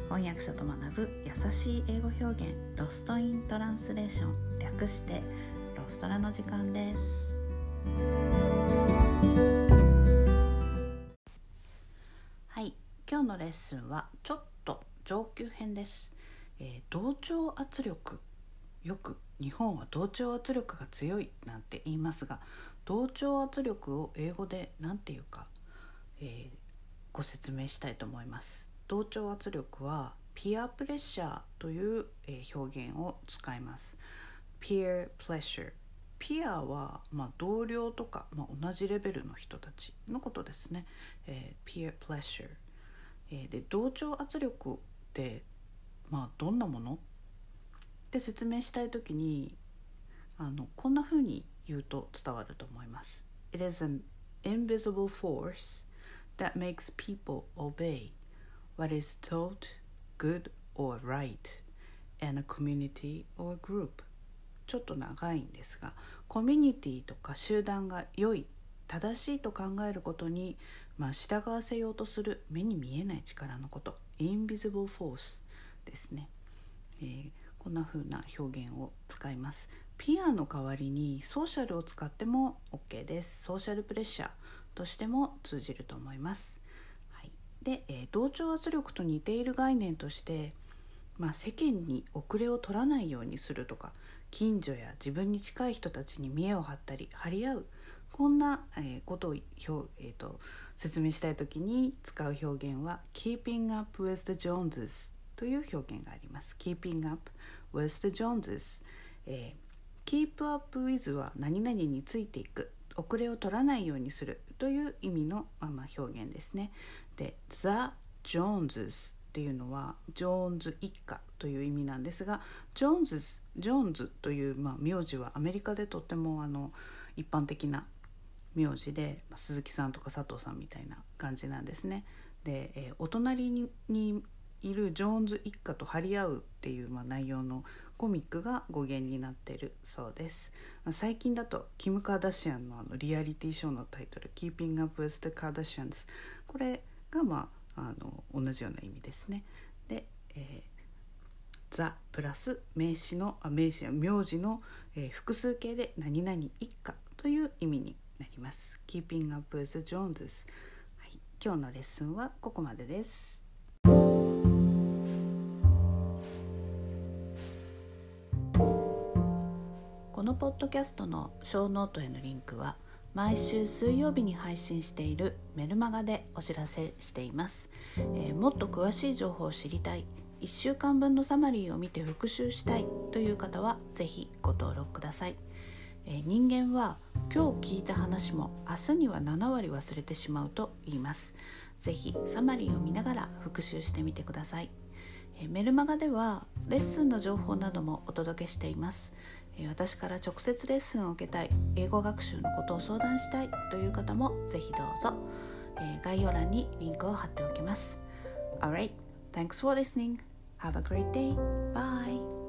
翻訳者と学ぶ優しい英語表現ロストイントランスレーション、略してロストラの時間です。はい、今日のレッスンはちょっと上級編です。同調圧力、よく日本は同調圧力が強いなんて言いますが、同調圧力を英語で何て言うか、ご説明したいと思います。同調圧力はピアプレッシャーという、表現を使います。peer pressure、ピアは、同僚とか、同じレベルの人たちのことですね。peer pressure、で同調圧力って、どんなものって説明したいときにこんな風に言うと伝わると思います。 It is an invisible force that makes people obey what is taught good or right in a community or group。 ちょっと長いんですが、コミュニティとか集団が良い、正しいと考えることに、従わせようとする目に見えない力のこと、 invisible force ですね。こんな風な表現を使います。ピアの代わりにソーシャルを使っても OK です。ソーシャルプレッシャーとしても通じると思います。で、同調圧力と似ている概念として、世間に遅れを取らないようにするとか、近所や自分に近い人たちに見栄を張ったり張り合う、こんな、ことを説明したいときに使う表現は Keeping up with the Joneses という表現があります。 Keeping up with the Joneses、Keep up with は何々についていく、遅れを取らないようにするという意味の、表現ですね。で The Joneses っていうのはジョーンズ一家という意味なんですが、ジョーンズという、名字はアメリカでとっても一般的な名字で、鈴木さんとか佐藤さんみたいな感じなんですね。で、お隣にいるジョーンズ一家と張り合うっていう、内容のコミックが語源になっているそうです。最近だとキム・カーダシアンのリアリティショーのタイトル Keeping up with the Kardashians、 これが同じような意味ですね。で、ザプラス名詞や名字の、複数形で何々一家という意味になります。 Keeping up with the Joneses、今日のレッスンはここまでです。このポッドキャストのショーノートへのリンクは毎週水曜日に配信しているメルマガでお知らせしています。もっと詳しい情報を知りたい、1週間分のサマリーを見て復習したいという方はぜひご登録ください。人間は今日聞いた話も明日には7割忘れてしまうと言います。ぜひサマリーを見ながら復習してみてください。メルマガではレッスンの情報などもお届けしています。私から直接レッスンを受けたい、英語学習のことを相談したいという方もぜひどうぞ。概要欄にリンクを貼っておきます。Alright, thanks for listening. Have a great day. Bye.